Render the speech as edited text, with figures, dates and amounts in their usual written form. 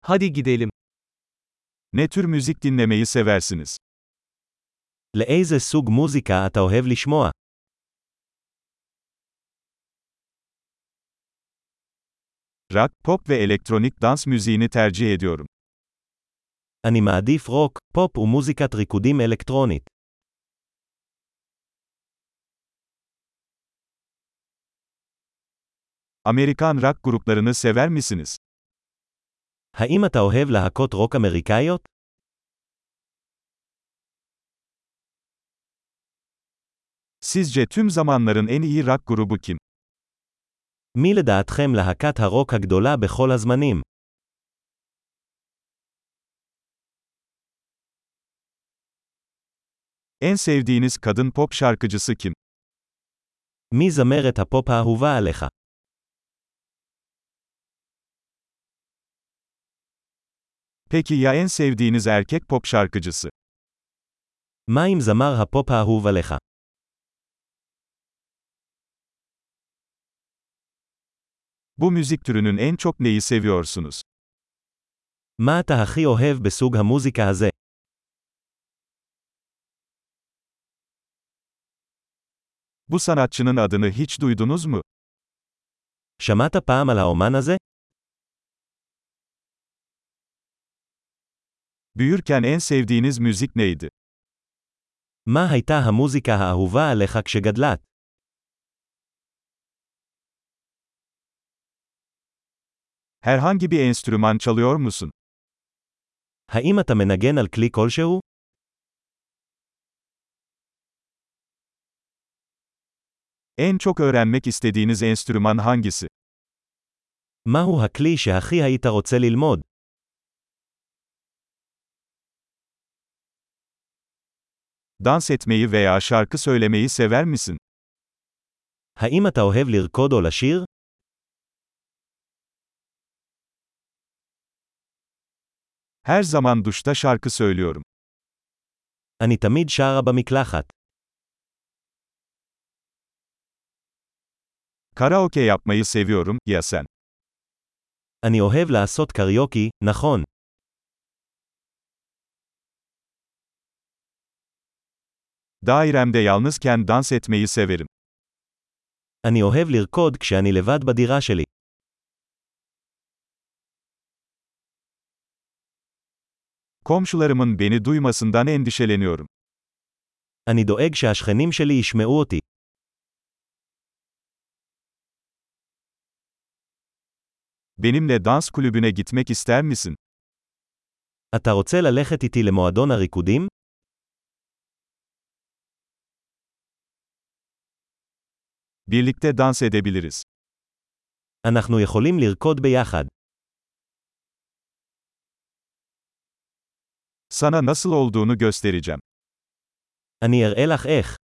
Hadi gidelim. Ne tür müzik dinlemeyi seversiniz? לאיזה סוג מוזיקה אתה אוהב לשמוע? Rock, pop ve elektronik dans müziğini tercih ediyorum. אני מעדיף רוק, פופ ומוזיקת ריקודים אלקטרונית. Amerikan rock gruplarını sever misiniz? האם אתה אוהב להקות רוק אמריקאיות? Sizce tüm zamanların en iyi rock grubu kim? מי לדעתכם להקת הרוק הגדולה בכל הזמנים? En sevdiğiniz kadın pop şarkıcısı kim? מי זמרת הפופ האהובה עליך? Peki ya en sevdiğiniz erkek pop şarkıcısı? מה עם זמר הפופ האהוב עליך? Bu müzik türünün en çok neyi seviyorsunuz? מה אתה הכי אוהב בסוג המוזיקה הזה? Bu sanatçının adını hiç duydunuz mu? שמעת פעם על האומן הזה? Büyürken en sevdiğiniz müzik neydi? מה הייתה המוזיקה האהובה עליך כשגדלת? Herhangi bir enstrüman çalıyor musun? האם אתה מנגן על כלי כלשהו? En çok öğrenmek istediğiniz enstrüman hangisi? מהו הכלי שהכי היית רוצה ללמוד? Dans etmeyi veya şarkı söylemeyi sever misin? האם אתה אוהב לרקוד או לשיר? Her zaman duşta şarkı söylüyorum. אני תמיד שרה במקלחת. Karaoke yapmayı seviyorum, ya sen? אני אוהב לעשות קריוקי, נכון. Dairemde yalnızken dans etmeyi severim. אני אוהב לרקוד כשאני לבד בדירה שלי. Komşularımın beni duymasından endişeleniyorum. אני דואג שהשכנים שלי ישמעו אותי. Benimle dans kulübüne gitmek ister misin? אתה רוצה ללכת איתי למועדון הריקודים? Birlikte dans edebiliriz. אנחנו יכולים לרקוד ביחד. Sana nasıl olduğunu göstereceğim. אני אראה לך איך.